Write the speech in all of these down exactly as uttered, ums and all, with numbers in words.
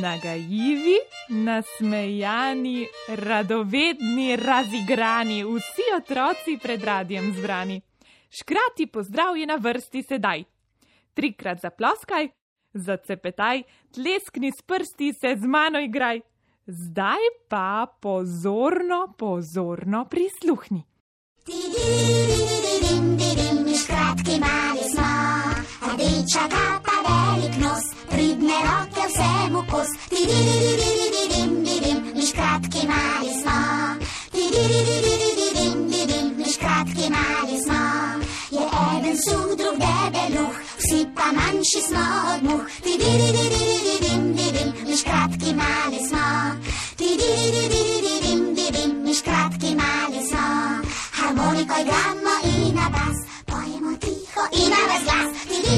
Nagajivi, nasmejani, radovedni, razigrani, vsi otroci pred radijem zbrani. Škrati pozdrav je na vrsti sedaj. Trikrat zaploskaj, zacepetaj, tleskni s prsti, se z mano igraj. Zdaj pa pozorno, pozorno prisluhni. Škratki mali smo, rdeča kapa, velik nos, pridne roke vsemu kos. Mi škratki mali smo, mi škratki mali smo. Je eden suh, drug debeluh, vsi pa manjši smo od muh. Mi škratki mali smo, mi škratki mali smo. Harmoniko igramo in na bas, pojemo tiho in na ves glas.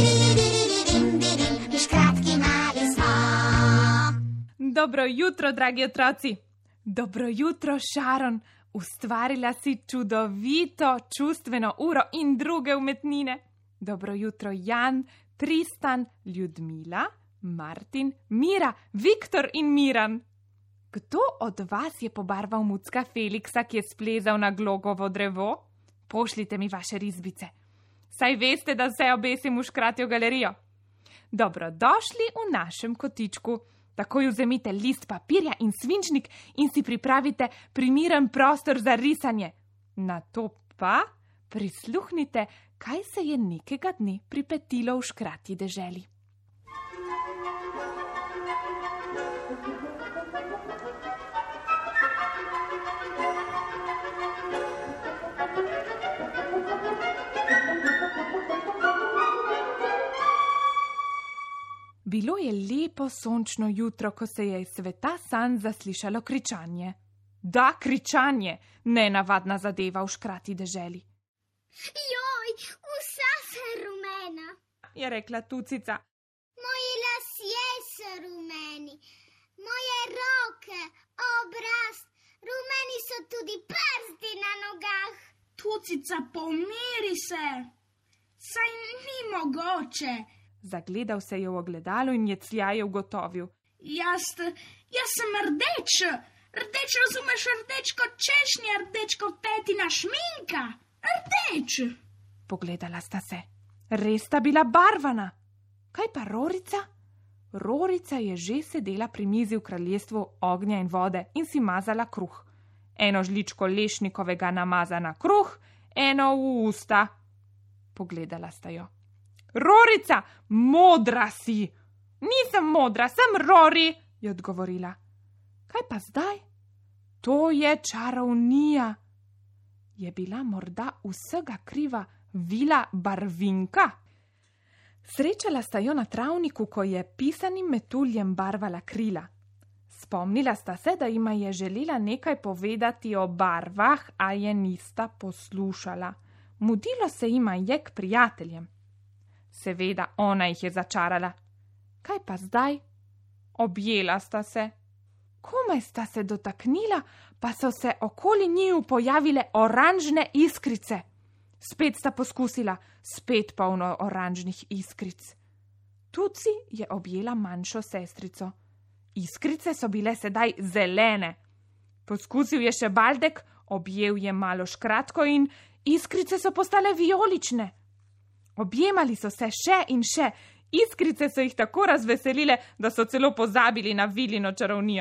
Mi škratki mali smo. Dobro jutro, dragi otroci. Dobro jutro, Sharon. Ustvarila si čudovito čustveno uro in druge umetnine. Dobro jutro, Jan, Tristan, Ljudmila, Martin, Mira, Viktor in Miran. Kdo od vas je pobarval mucka Feliksa, ki je splezal na glogovo drevo? Pošljite mi vaše risbice. Saj veste, da vse obesim v škratjo galerijo. Dobrodošli v našem kotičku. Takoj vzemite list papirja in svinčnik in si pripravite primiren prostor za risanje. Nato pa prisluhnite, kaj se je nekega dne pripetilo v škratji deželi. Bilo je lepo sončno jutro, ko se je iz sveta sanj zaslišalo kričanje. Da, kričanje, nenavadna zadeva v škrati deželi. Joj, vsa se rumena, je rekla Tucica. Moji lasje so rumeni, moje roke, obraz, rumeni so tudi prsti na nogah. Tucica, pomiri se, saj ni mogoče. Zagledal se je v ogledalo in jecljaje ugotovil. Jaz, jaz sem rdeč, rdeč razumeš, rdeč kot češnja, rdeč kot petina šminka, rdeč. Pogledala sta se. Res sta bila barvana. Kaj pa Rorica? Rorica je že sedela pri mizi v kraljestvu ognja in vode in si mazala kruh. Eno žličko lešnikovega namaza na kruh, eno v usta. Pogledala sta jo. Rorica, modra si. Nisem modra, sem Rori, je odgovorila. Kaj pa zdaj? To je čarovnija. Je bila morda vsega kriva vila Barvinka? Srečala sta jo na travniku, ko je pisanim metuljem barvala krila. Spomnila sta se, da jima je želela nekaj povedati o barvah, a je nista poslušala. Mudilo se jima je k prijateljem. Seveda, ona jih je začarala. Kaj pa zdaj? Objela sta se. Komaj sta se dotaknila, pa so se okoli njiju pojavile oranžne iskrice. Spet sta poskusila, spet polno oranžnih iskric. Tuci je objela manjšo sestrico. Iskrice so bile sedaj zelene. Poskusil je še Baldek, objel je malo škratko in iskrice so postale vijolične. Objemali so se še in še, iskrice so jih tako razveselile, da so celo pozabili na vilino čarovnijo.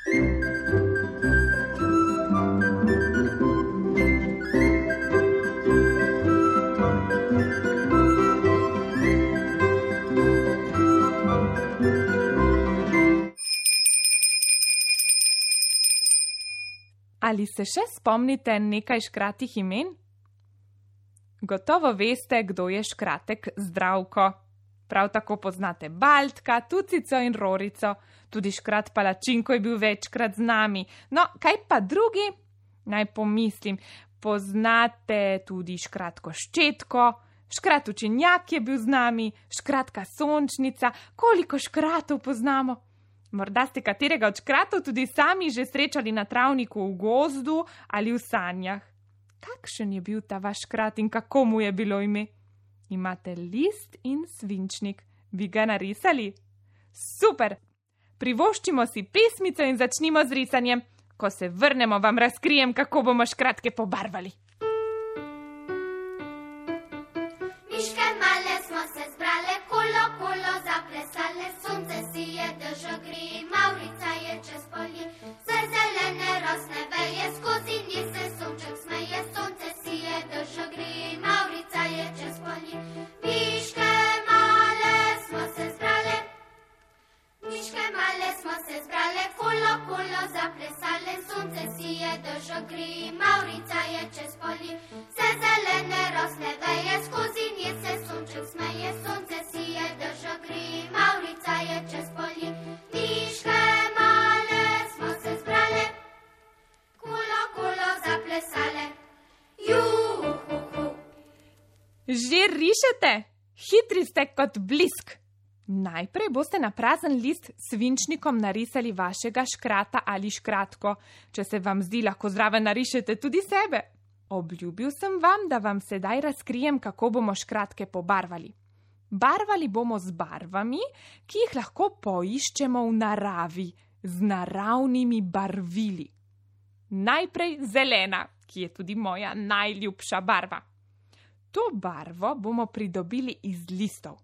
Ali se še spomnite nekaj škratih imen? Gotovo veste, kdo je škratek Zdravko. Prav tako poznate Baldka, Tucico in Rorico. Tudi škrat Palačinko je bil večkrat z nami. No, kaj pa drugi? Naj pomislim. Poznate tudi škratko Ščetko, škrat Učenjak je bil z nami, škratka Sončnica. Koliko škratov poznamo? Morda ste katerega od škratov tudi sami že srečali na travniku v gozdu ali v sanjah. Kakšen je bil ta vaš škrat in kako mu je bilo ime? Imate list in svinčnik. Bi ga narisali? Super! privoščimo si pesmico in začnimo z risanjem. Ko se vrnemo, vam razkrijem, kako bomo škratke pobarvali. Miške male smo se zbrale, kolo, kolo zaplesale, sonce si je držo gri, Mavrica je čez polje, saj zelene rosne veje, skozi nje se sonček smeje, sonce si je držo gri, Mavrica je čez polje. Miške male smo se zbrale, miške male smo se zbrale, kolo, kolo zaplesale, sonce si je držo gri, Mavrica je čez polje, saj zelene rosne veje, skozi nje se sonček smeje, sonce si je držo gri, Mavrica je čez polje. Miške male smo se zbrale, kolo, kolo zaplesale, juhuhu. Že rišete? Hitri ste kot blisk. Najprej boste na prazen list s svinčnikom narisali vašega škrata ali škratko. Če se vam zdi, lahko zraven narišete tudi sebe. Obljubil sem vam, da vam sedaj razkrijem, kako bomo škratke pobarvali. Barvali bomo z barvami, ki jih lahko poiščemo v naravi, z naravnimi barvili. Najprej zelena, ki je tudi moja najljubša barva. To barvo bomo pridobili iz listov.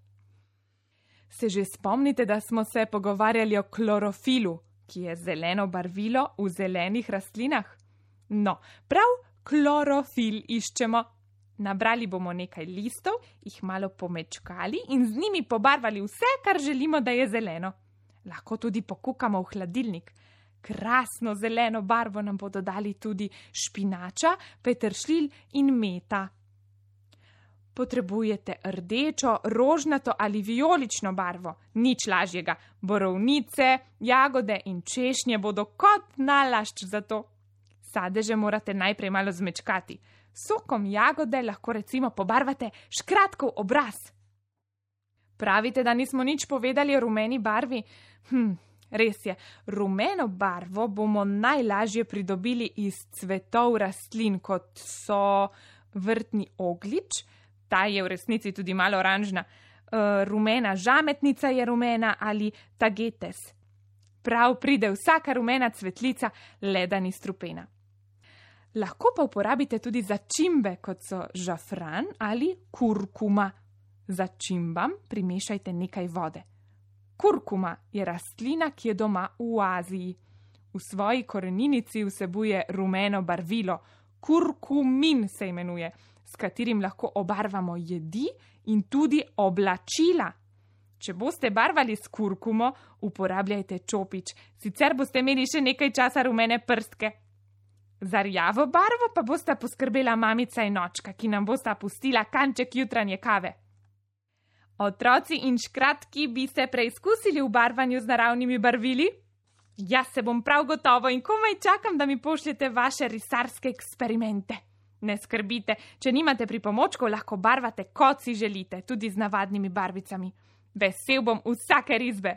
Se že spomnite, da smo se pogovarjali o klorofilu, ki je zeleno barvilo v zelenih rastlinah? No, prav klorofil iščemo. Nabrali bomo nekaj listov, jih malo pomečkali in z njimi pobarvali vse, kar želimo, da je zeleno. Lahko tudi pokukamo v hladilnik. Krasno zeleno barvo nam bodo dali tudi špinača, peteršilj in meta. Potrebujete rdečo, rožnato ali vijolično barvo. Nič lažjega. Borovnice, jagode in češnje bodo kot nalašč za to. Sadeže morate najprej malo zmečkati. Sokom jagode lahko recimo pobarvate škratkov obraz. Pravite, da nismo nič povedali o rumeni barvi? Hm, res je. Rumeno barvo bomo najlažje pridobili iz cvetov rastlin, kot so vrtni oglič, ta je v resnici tudi malo oranžna, uh, rumena žametnica je rumena ali tagetes. Prav pride vsaka rumena cvetlica, le da ni strupena. Lahko pa uporabite tudi začimbe, kot so žafran ali kurkuma. Začimbam primešajte nekaj vode. Kurkuma je rastlina, ki je doma v Aziji. V svoji koreninici vsebuje rumeno barvilo, kurkumin se imenuje, s katerim lahko obarvamo jedi in tudi oblačila. Če boste barvali s kurkumo, uporabljajte čopič, sicer boste imeli še nekaj časa rumene prstke. Za rjavo barvo pa bosta poskrbela mamica in očka, ki nam bosta pustila kanček jutranje kave. Otroci in škratki, bi se preizkusili v barvanju z naravnimi barvili? Jaz se bom prav gotovo in komaj čakam, da mi pošljete vaše risarske eksperimente. Ne skrbite, če nimate pripomočkov, lahko barvate, kot si želite, tudi z navadnimi barvicami. Vesel bom vsake risbe.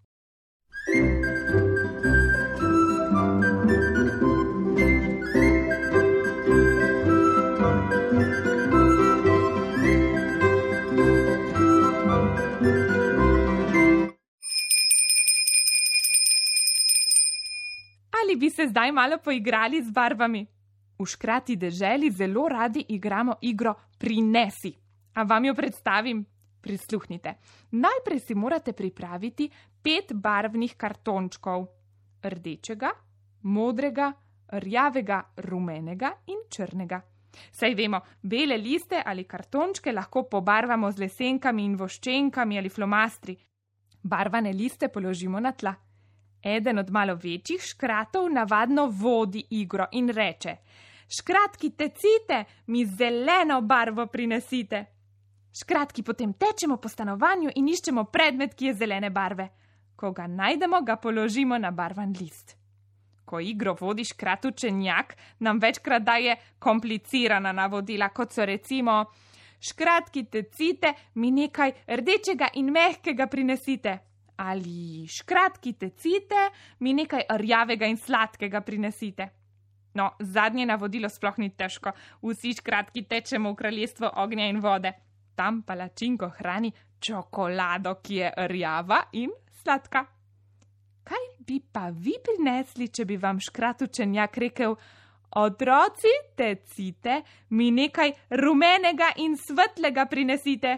Ali bi se zdaj malo poigrali z barvami? V škrati deželi zelo radi igramo igro Prinesi. A vam jo predstavim? Prisluhnite. Najprej si morate pripraviti pet barvnih kartončkov. Rdečega, modrega, rjavega, rumenega in črnega. Saj vemo, bele liste ali kartončke lahko pobarvamo z lesenkami in voščenkami ali flomastri. Barvane liste položimo na tla. Eden od malo večjih škratov navadno vodi igro in reče: škratki tecite, mi zeleno barvo prinesite. Škratki potem tečemo po stanovanju in iščemo predmet, ki je zelene barve. Ko ga najdemo, ga položimo na barvan list. Ko igro vodi škrat učenjak, nam večkrat daje komplicirana navodila, kot so recimo: škratki tecite, mi nekaj rdečega in mehkega prinesite. Ali škratki tecite, mi nekaj rjavega in sladkega prinesite. No, zadnje navodilo sploh ni težko. Vsi škratki tečemo v kraljestvo ognja in vode. Tam palačinko hrani čokolado, ki je rjava in sladka. Kaj bi pa vi prinesli, če bi vam škrat učenjak rekel: otroci, tecite, mi nekaj rumenega in svetlega prinesite.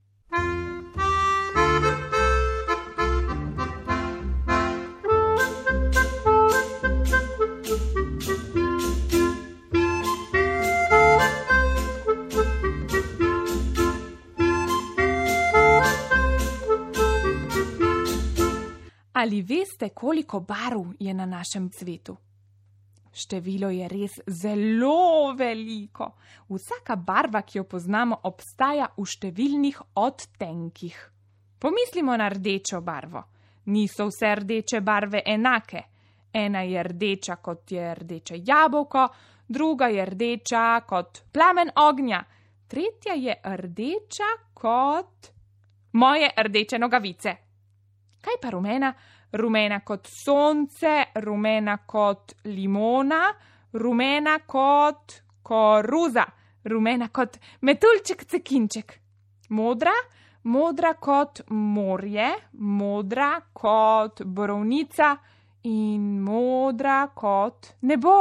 Ali veste, koliko barv je na našem svetu? Število je res zelo veliko. Vsaka barva, ki jo poznamo, obstaja v številnih odtenkih. Pomislimo na rdečo barvo. Niso vse rdeče barve enake. Ena je rdeča, kot je rdeče jabolko, druga je rdeča kot plamen ognja, tretja je rdeča kot moje rdeče nogavice. Kaj pa rumena? Rumena kot sonce, rumena kot limona, rumena kot koruza, rumena kot metuljček cekinček. Modra? Modra kot morje, modra kot borovnica in modra kot nebo.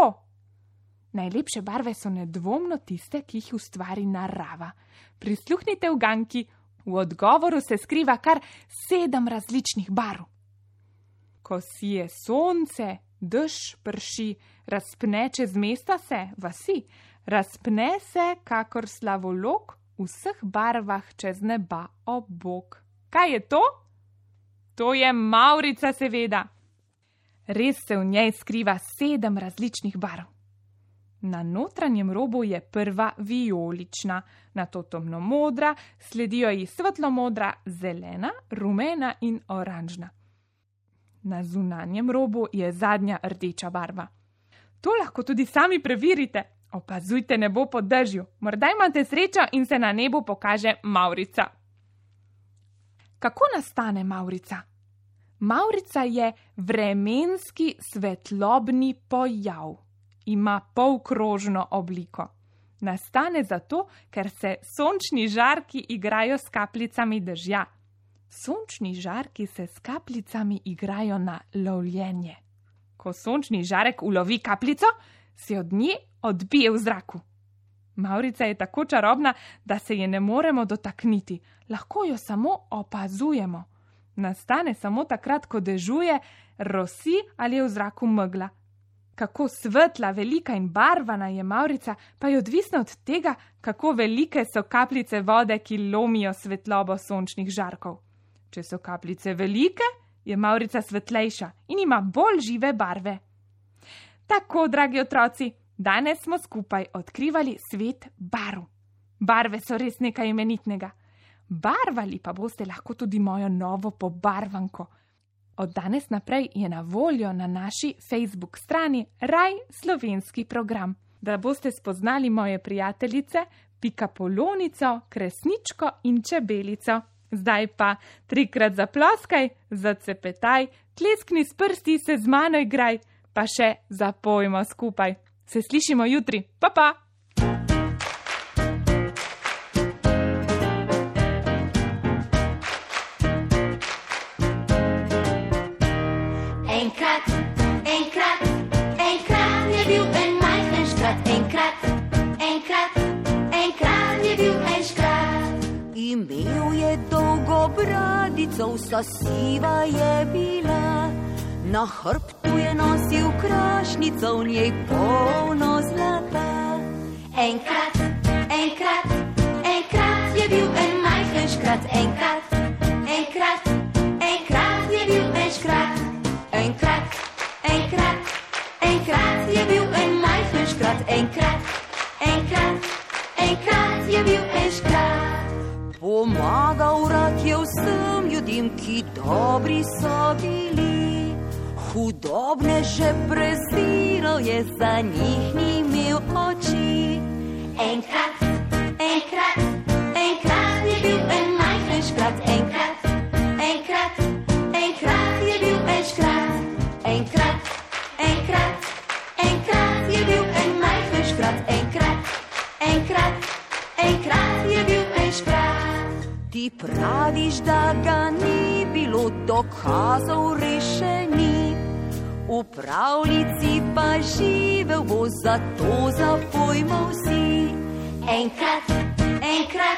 Najlepše barve so nedvomno tiste, ki jih ustvari narava. Prisluhnite uganki. V odgovoru se skriva kar sedem različnih barv. Ko sije sonce, dež prši, razpne čez mesta se, vasi, razpne se kakor slavolok v vseh barvah čez neba obok. Kaj je to? To je mavrica, seveda. Res se v njej skriva sedem različnih barv. Na notranjem robu je prva vijolična, nato temno modra, sledijo ji svetlo modra, zelena, rumena in oranžna. Na zunanjem robu je zadnja rdeča barva. To lahko tudi sami preverite. Opazujte nebo po dežju. Morda imate srečo in se na nebu pokaže mavrica. Kako nastane mavrica? Mavrica je vremenski svetlobni pojav. Ima polkrožno obliko. Nastane zato, ker se sončni žarki igrajo s kapljicami dežja. Sončni žarki se s kapljicami igrajo na lovljenje. Ko sončni žarek ulovi kapljico, se od nje odbije v zraku. Mavrica je tako čarobna, da se je ne moremo dotakniti, lahko jo samo opazujemo. Nastane samo takrat, ko dežuje, rosi ali je v zraku megla. Kako svetla, velika in barvana je mavrica, pa je odvisno od tega, kako velike so kapljice vode, ki lomijo svetlobo sončnih žarkov. Če so kapljice velike, je mavrica svetlejša in ima bolj žive barve. Tako, dragi otroci, danes smo skupaj odkrivali svet barv. Barve so res nekaj imenitnega. Barvali pa boste lahko tudi mojo novo pobarvanko. Od danes naprej je na voljo na naši Facebook strani Raj slovenski program, da boste spoznali moje prijateljice, pikapolonico, kresničko in čebelico. Zdaj pa trikrat zaploskaj, zacepetaj, tleskni s prsti, se z mano igraj, pa še zapojmo skupaj. Se slišimo jutri. Pa, pa! Enkrat, enkrat, enkrat je bil en majhen škrat. Enkrat, enkrat, enkrat je bil en škrat. Imel je dolgo bradico, vsa siva je bila. Na hrbtu je nosil krašnico, v njej polno zlata. Enkrat, enkrat, enkrat je bil en majhen škrat. Enkrat, enkrat, enkrat je bil en škrat. Enkrat, enkrat, enkrat je bil en majhen škrat. Enkrat, enkrat, enkrat je bil en škrat. Pomagal rad je vsem ljudem, ki dobri so bili. Hudobne že preziral je, za njih ni imel oči. Enkrat, enkrat, enkrat je bil en majhen škrat. Enkrat, enkrat, enkrat je bil en škrat. Enkrat, enkrat, enkrat je bil en majhen škrat. Enkrat, enkrat, enkrat je bil en škrat. Ti praviš, da ga ni bilo, dokazov res še ni. V pravljici pa živel bo, zato zapojmo vsi. Enkrat, enkrat